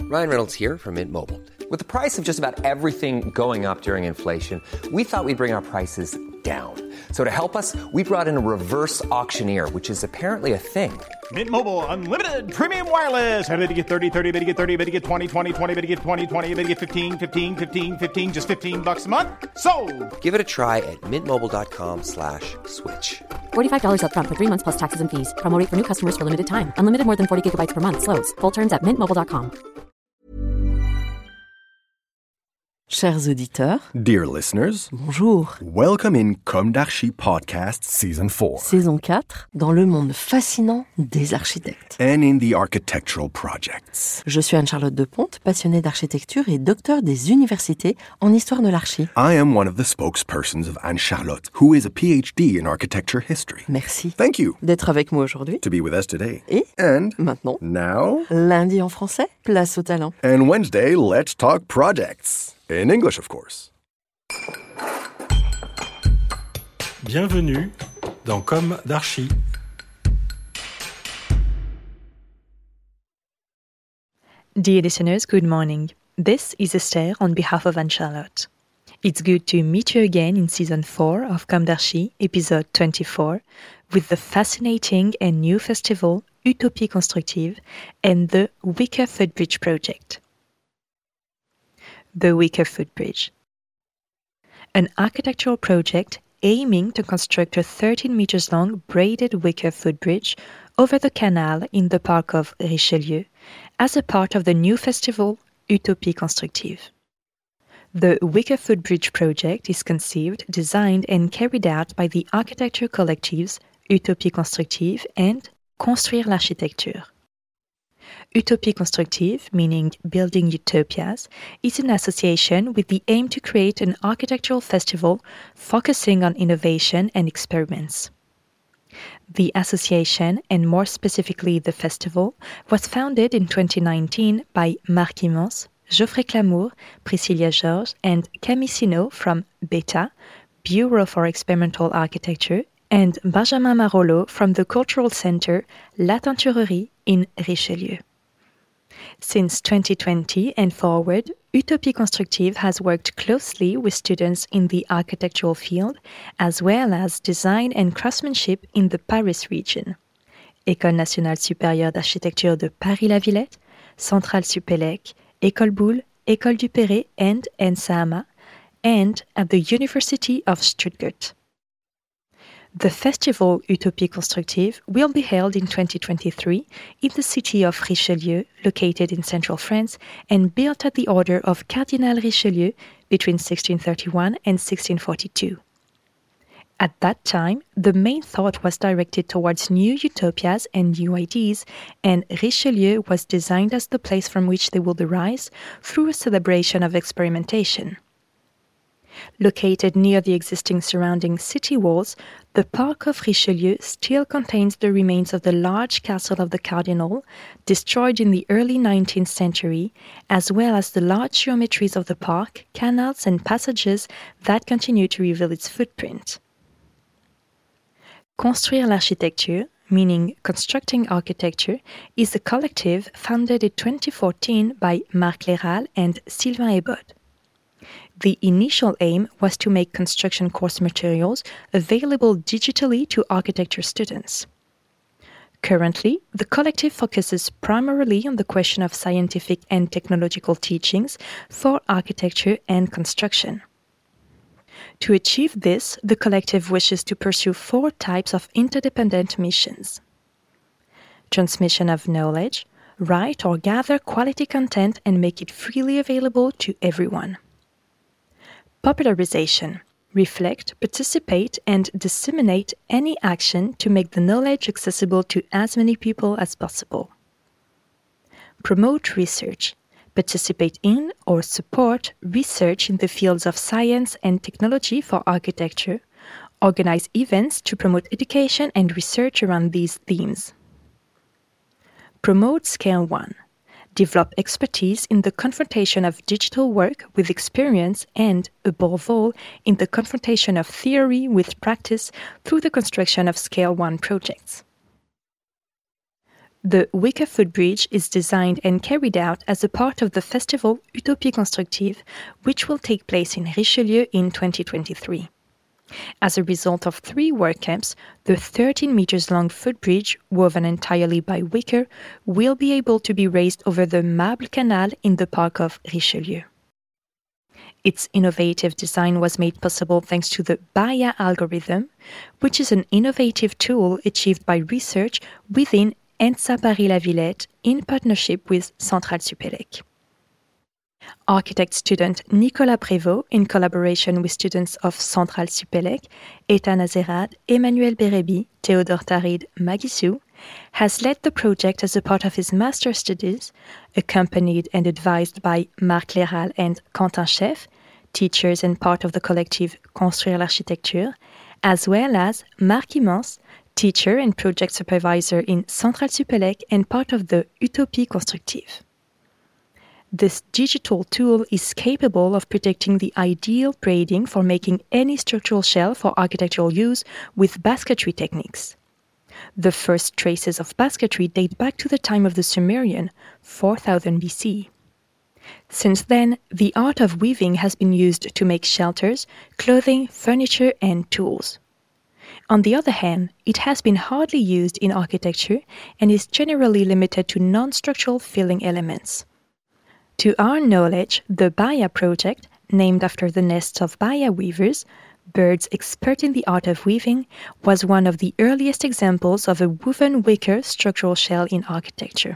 Ryan Reynolds here from Mint Mobile. With the price of just about everything going up during inflation, we thought we'd bring our prices down. So to help us, we brought in a reverse auctioneer, which is apparently a thing. Mint Mobile Unlimited Premium Wireless. How to get 30, 30, bit to get 30, bit to get 20, 20, 20, bit to get 20, 20, bit to get 15, 15, 15, 15, just $15 a month? Sold! Give it a try at mintmobile.com/switch. $45 up front for 3 months plus taxes and fees. Promo rate for new customers for limited time. Unlimited more than 40 gigabytes per month. Slows full terms at mintmobile.com. Chers auditeurs, Dear listeners, bonjour. welcome in Comme d'Archi Podcast Season 4 Saison 4, dans le monde fascinant des architectes. and in the architectural projects. Je suis Anne-Charlotte Deponte, passionnée d'architecture et docteur des universités en histoire de l'archi. I am one of the spokespersons of Anne-Charlotte, who is a PhD in architecture history. Merci Thank you d'être avec moi aujourd'hui. to be with us today. Et And maintenant, now, lundi en français, place au talent. and Wednesday, let's talk projects. In English, of course. Bienvenue dans Comme d'Archi. Dear listeners, good morning. This is Esther on behalf of Anne-Charlotte. It's good to meet you again in Season 4 of Comme d'Archi, Episode 24, with the fascinating and new festival Utopie Constructive and the Wicker Footbridge project. The Wicker Footbridge. An architectural project aiming to construct a 13 meters long braided wicker footbridge over the canal in the park of Richelieu as a part of the new festival Utopie Constructive. The Wicker Footbridge project is conceived, designed and carried out by the architecture collectives Utopie Constructive and Construire l'Architecture. Utopie Constructive, meaning Building Utopias, is an association with the aim to create an architectural festival focusing on innovation and experiments. The association, and more specifically the festival, was founded in 2019 by Marc Immense, Geoffrey Clamour, Priscilla Georges, and Camille Sino from BETA, Bureau for Experimental Architecture, and Benjamin Marollo from the Cultural Center La Tenturerie in Richelieu. Since 2020 and forward, Utopie Constructive has worked closely with students in the architectural field, as well as design and craftsmanship in the Paris region. École nationale supérieure d'architecture de Paris-la-Villette, Centrale Supélec, École Boulle, École du Perret, and ENSAMA, and at the University of Stuttgart. The festival Utopie Constructive will be held in 2023 in the city of Richelieu, located in central France and built at the order of Cardinal Richelieu between 1631 and 1642. At that time, the main thought was directed towards new utopias and new ideas, and Richelieu was designed as the place from which they would arise through a celebration of experimentation. Located near the existing surrounding city walls, the Park of Richelieu still contains the remains of the large castle of the Cardinal, destroyed in the early 19th century, as well as the large geometries of the park, canals and passages that continue to reveal its footprint. Construire l'Architecture, meaning constructing architecture, is a collective founded in 2014 by Marc Léral and Sylvain Ebode. The initial aim was to make construction course materials available digitally to architecture students. Currently, the collective focuses primarily on the question of scientific and technological teachings for architecture and construction. To achieve this, the collective wishes to pursue 4 types of interdependent missions: transmission of knowledge, write or gather quality content and make it freely available to everyone. Popularization, reflect, participate, and disseminate any action to make the knowledge accessible to as many people as possible. Promote research, participate in or support research in the fields of science and technology for architecture, organize events to promote education and research around these themes. Promote Scale 1. Develop expertise in the confrontation of digital work with experience and, above all, in the confrontation of theory with practice through the construction of Scale 1 projects. The wicker footbridge is designed and carried out as a part of the festival Utopie Constructive, which will take place in Richelieu in 2023. As a result of 3 work camps, the 13 meters long footbridge, woven entirely by wicker, will be able to be raised over the Marble Canal in the park of Richelieu. Its innovative design was made possible thanks to the BAIA algorithm, which is an innovative tool achieved by research within ENSA Paris-La Villette in partnership with Centrale Supélec. Architect student Nicolas Prévost, in collaboration with students of Centrale Supélec, Ethan Azerad, Emmanuel Bérébi, Théodore Tarid, Maggie Sue, has led the project as a part of his master's studies, accompanied and advised by Marc Léral and Quentin Chef, teachers and part of the collective Construire l'Architecture, as well as Marc Immense, teacher and project supervisor in Centrale Supélec and part of the Utopie Constructive. This digital tool is capable of predicting the ideal braiding for making any structural shell for architectural use with basketry techniques. The first traces of basketry date back to the time of the Sumerian, 4000 BC. Since then, the art of weaving has been used to make shelters, clothing, furniture, and tools. On the other hand, it has been hardly used in architecture and is generally limited to non-structural filling elements. To our knowledge, the BAIA project, named after the nests of BAIA weavers, birds expert in the art of weaving, was one of the earliest examples of a woven wicker structural shell in architecture.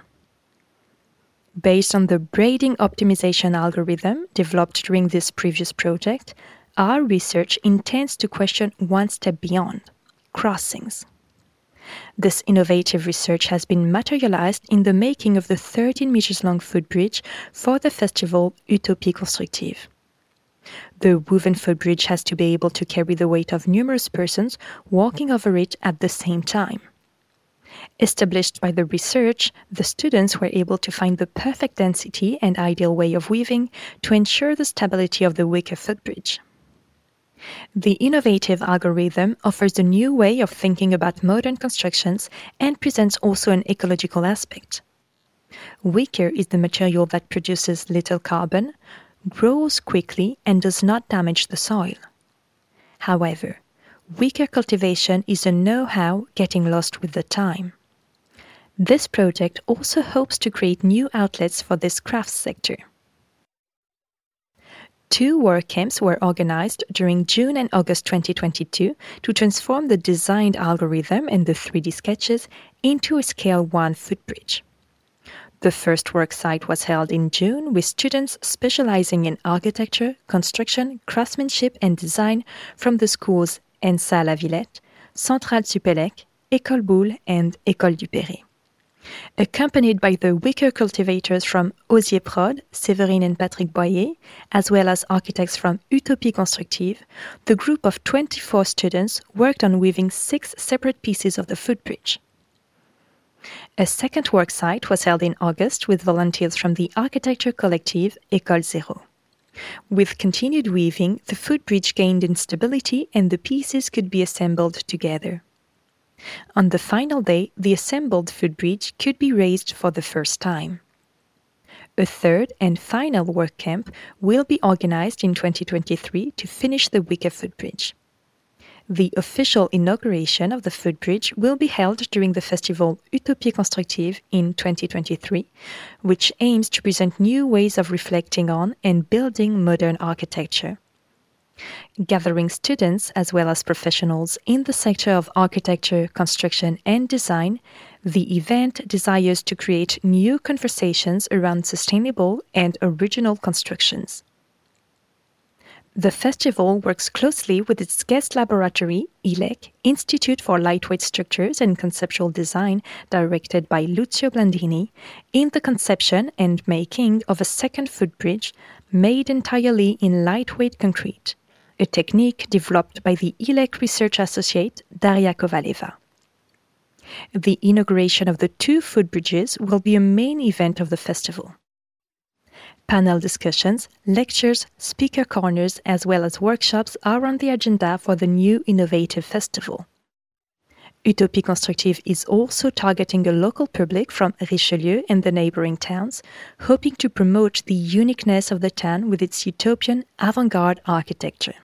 Based on the braiding optimization algorithm developed during this previous project, our research intends to question one step beyond: crossings. This innovative research has been materialized in the making of the 13 meters long footbridge for the festival Utopie Constructive. The woven footbridge has to be able to carry the weight of numerous persons walking over it at the same time. Established by the research, the students were able to find the perfect density and ideal way of weaving to ensure the stability of the wicker footbridge. The innovative algorithm offers a new way of thinking about modern constructions and presents also an ecological aspect. Wicker is the material that produces little carbon, grows quickly, and does not damage the soil. However, wicker cultivation is a know-how getting lost with the time. This project also hopes to create new outlets for this crafts sector. 2 work camps were organized during June and August 2022 to transform the designed algorithm and the 3D sketches into a Scale 1 footbridge. The first work site was held in June with students specializing in architecture, construction, craftsmanship and design from the schools ENSA La Villette, Centrale Supélec, École Boulle and École du Perret. Accompanied by the wicker cultivators from Osier Prod, Séverine and Patrick Boyer, as well as architects from Utopie Constructive, the group of 24 students worked on weaving 6 separate pieces of the footbridge. A second work site was held in August with volunteers from the architecture collective École Zéro. With continued weaving, the footbridge gained in stability and the pieces could be assembled together. On the final day, the assembled footbridge could be raised for the first time. A third and final work camp will be organized in 2023 to finish the wicker footbridge. The official inauguration of the footbridge will be held during the festival Utopie Constructive in 2023, which aims to present new ways of reflecting on and building modern architecture. Gathering students as well as professionals in the sector of architecture, construction, and design, the event desires to create new conversations around sustainable and original constructions. The festival works closely with its guest laboratory, ILEC, Institute for Lightweight Structures and Conceptual Design, directed by Lucio Blandini, in the conception and making of a second footbridge made entirely in lightweight concrete, a technique developed by the ILEC research associate Daria Kovaleva. The inauguration of the 2 footbridges will be a main event of the festival. Panel discussions, lectures, speaker corners, as well as workshops are on the agenda for the new innovative festival. Utopie Constructive is also targeting a local public from Richelieu and the neighboring towns, hoping to promote the uniqueness of the town with its utopian avant-garde architecture.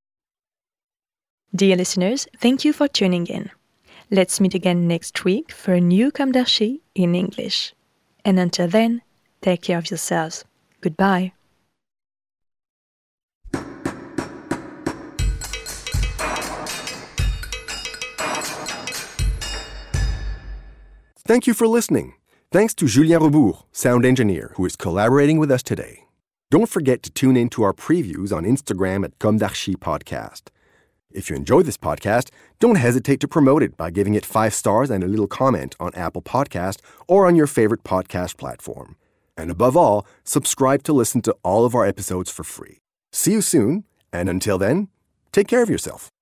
Dear listeners, thank you for tuning in. Let's meet again next week for a new Comme d'Archi in English. And until then, take care of yourselves. Goodbye. Thank you for listening. Thanks to Julien Rebourg, sound engineer, who is collaborating with us today. Don't forget to tune in to our previews on Instagram at Comme d'Archi Podcast. If you enjoy this podcast, don't hesitate to promote it by giving it 5 stars and a little comment on Apple Podcast or on your favorite podcast platform. And above all, subscribe to listen to all of our episodes for free. See you soon, and until then, take care of yourself.